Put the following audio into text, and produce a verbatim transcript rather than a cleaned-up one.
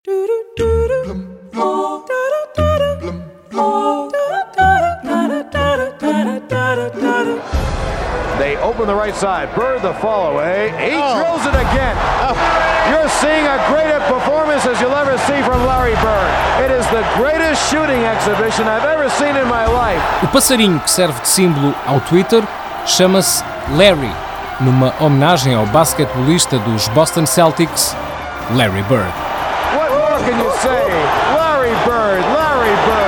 They open the right side. Bird the follow away. He oh. drills it again. Oh. You're seeing a great performance as you'll ever see from Larry Bird. It is the greatest shooting exhibition I've ever seen in my life. O passarinho que serve de símbolo ao Twitter chama-se Larry, numa homenagem ao basquetebolista dos Boston Celtics, Larry Bird. What more can you say? Larry Bird, Larry Bird.